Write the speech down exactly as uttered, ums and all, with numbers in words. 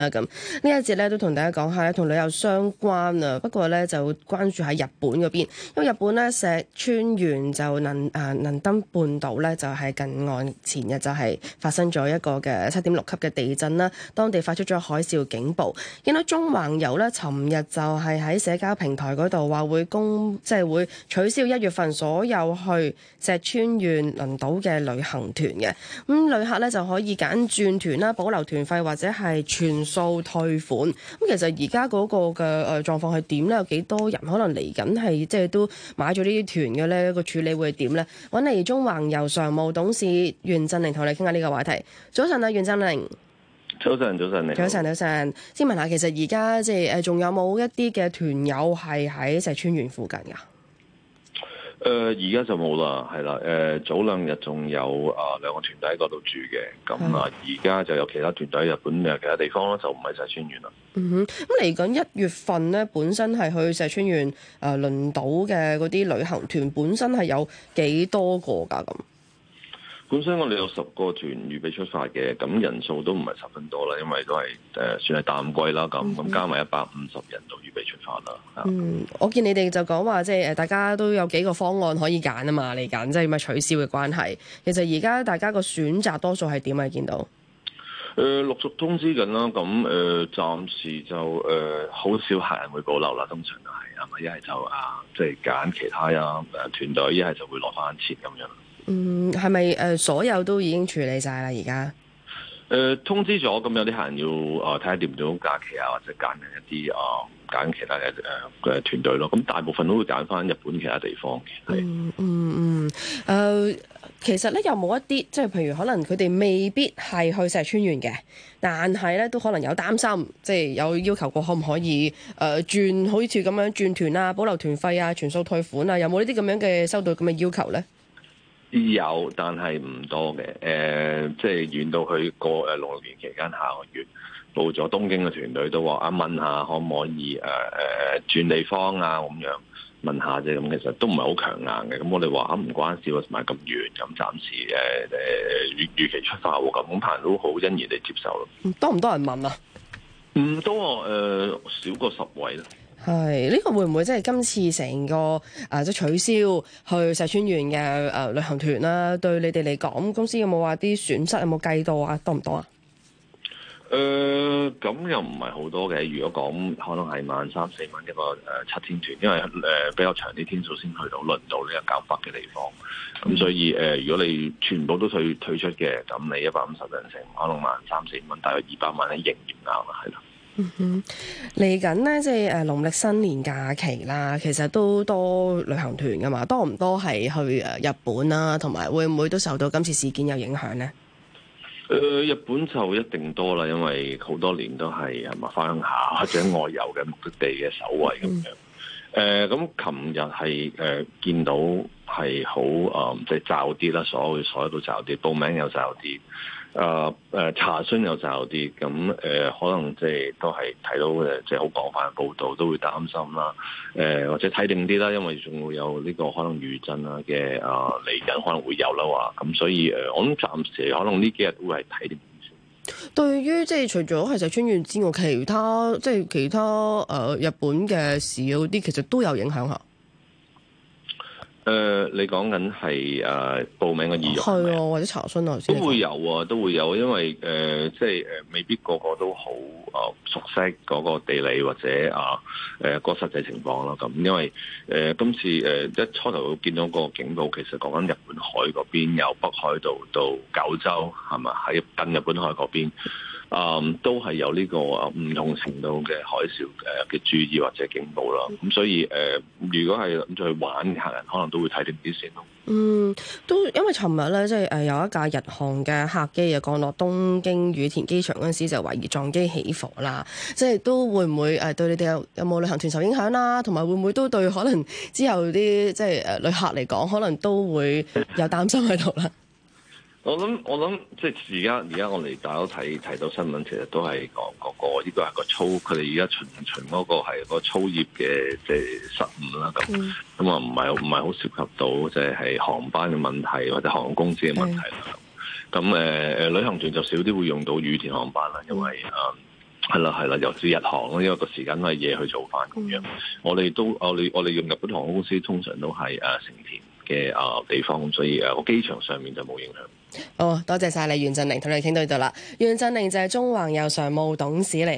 啊咁呢一節咧都同大家講下同旅遊相關啊，不過咧就關注喺日本嗰邊，因為日本咧石川縣就能啊能登半島咧就係近岸前日就係發生咗一個嘅七點六級嘅地震啦，當地發出咗海嘯警報。見到中環遊咧，尋日就係喺社交平台嗰度話會公即係會取消一月份所有去石川縣輪島嘅旅行團嘅，咁旅客咧就可以揀轉團啦、保留團費或者係全數退款。咁其實而家嗰個嘅誒狀況係點咧？有幾多人可能嚟緊係即係都買咗呢啲團嘅咧？個處理會係點咧？揾嚟中環遊常務董事袁振寧同你傾下呢個話題。早晨啊，袁振寧。 早晨，早晨，你好。 早晨，早晨。先問下，其實而家即係誒，仲有冇一啲嘅團友係喺石川縣附近噶？ 誒、呃，而家就冇啦，係啦。誒、呃，早兩日仲有啊兩個團隊喺嗰度住嘅，咁啊，而家就有其他團隊喺日本嘅其他地方咯，就唔係石川縣啦。 嗯哼，咁嚟緊一月份咧，本身係去石川縣誒輪島嘅嗰啲旅行團，本身係有幾多個噶咁？ 本身我哋有十個團預備出發嘅，咁人數都唔係十分多啦，因為都係誒、呃、算係淡季啦，咁咁加埋一百五十人就預備出發啦。 嗯，我見你哋就講話即係誒，大家都有幾個方案可以揀啊嘛，嚟緊即係咪取消嘅關係？其實而家大家個選擇多數係點啊？見到誒、呃、陸續通知緊啦，咁誒、呃、暫時就誒好、呃、少客人會保留啦，通常都係係咪一係就啊即係揀其他啊誒團隊，一係就會攞翻錢咁樣。 嗯，係咪誒所有都已經處理晒啦？而家誒通知咗，咁有啲客人要誒睇下掂唔掂到假期啊，或者揀緊一啲啊揀其他嘅誒嘅團隊咯。咁大部分都會揀翻日本其他地方嘅。 嗯嗯嗯誒、呃，其實咧有冇一啲即係譬如可能佢哋未必係去石川縣嘅，但係咧都可能有擔心，即係有要求過可唔可以誒、呃、轉好似咁樣轉團啊、保留團費啊、全數退款啊？有冇呢啲咁樣嘅收到咁嘅要求咧？ 有，但係唔多嘅。誒、呃，即係遠到去過誒農曆年期間下個月報咗東京嘅團隊都話啊，問下可唔可以誒誒、呃、轉地方啊咁樣問下啫。咁其實都唔係好強硬嘅。咁我哋話啊唔關事喎，同埋咁遠，咁暫時誒誒預預期出發喎，咁咁人都好欣然地接受咯。 多唔多人問啊？ 唔多誒、呃，少過十位啦。 係呢、這個會唔會即係今次成個誒、呃、即係取消去石川縣嘅誒旅行團啦？對你哋嚟講，公司有冇話啲損失有冇計到啊？多唔多啊？ 誒、呃，咁又唔係好多嘅。如果講可能係萬三四蚊一個誒、呃、七天團，因為誒、呃、比較長啲天數先去到輪島呢個較北嘅地方。咁、嗯、所以誒、呃，如果你全部都退退出嘅，咁你一百五十人成可能萬三四蚊，大約二百萬喺營業額啦，係啦。 嗯哼，嚟緊呢，即係誒農曆新年假期啦，其實都多旅行團噶嘛，多唔多係去誒日本啦，同埋會唔會都受到今次事件有影響呢？ 誒、呃，日本就一定多啦，因為好多年都係係咪翻鄉下或者外遊嘅目的地嘅首位咁樣。誒、嗯，咁琴日係誒見到係好誒，即係驟啲啦，所有所有都驟啲，報名又驟啲。誒誒、呃、查詢又就啲，咁誒、呃、可能即係都係睇到誒，即係好廣泛嘅報道，都會擔心啦。誒、呃、或者睇定啲啦，因為仲會有呢個可能餘震啊嘅啊嚟緊可能會有啦話，咁所以誒、呃，我諗暫時可能呢幾日都會係睇定啲先。對於即係除咗係石川縣之外，其他即係其他誒、呃、日本嘅市嗰啲，其實都有影響嚇。 誒、呃，你講緊係誒報名嘅意欲係啊，或者查詢啊， 都會有啊，都會有，因為誒、呃，即係誒、呃，未必個個都好誒、呃、熟悉嗰個地理或者啊誒個實際情況啦。咁因為誒、呃、今次誒、呃、一初頭見到個警報，其實講緊日本海嗰邊，由北海道到九州係咪喺近日本海嗰邊。嗯，都係有呢個啊唔同程度嘅海嘯誒嘅注意或者警報啦。咁所以誒、呃，如果係諗住去玩嘅客人，可能都會睇定啲先咯。 嗯，都因為尋日咧，即係誒有一架日航嘅客機啊降落東京羽田機場嗰陣時，就懷疑撞機起火啦。即係都會唔會誒對你哋有有冇旅行團受影響啦？同埋會唔會都對可能之後啲即係誒旅客嚟講，可能都會有擔心喺度啦？ 我諗我諗，即係而家而家我哋大家都睇睇到新聞，其實都係講嗰個呢個係個操，佢哋而家巡巡嗰個係個操業嘅即係失誤啦。咁咁啊，唔係唔係好涉及到即係係航班嘅問題或者航空公司嘅問題啦。咁誒誒，旅行團就少啲會用到羽田航班啦，因為誒係啦係啦，尤其是日航咯，因為個時間都係夜去做翻咁樣。我哋都我哋我哋用日本航空公司通常都係誒成田嘅啊地方，咁所以誒個機場上面就冇影響。 好，多謝晒你袁振寧，同你傾到呢度啦。袁振寧就係中環遊常務董事嚟。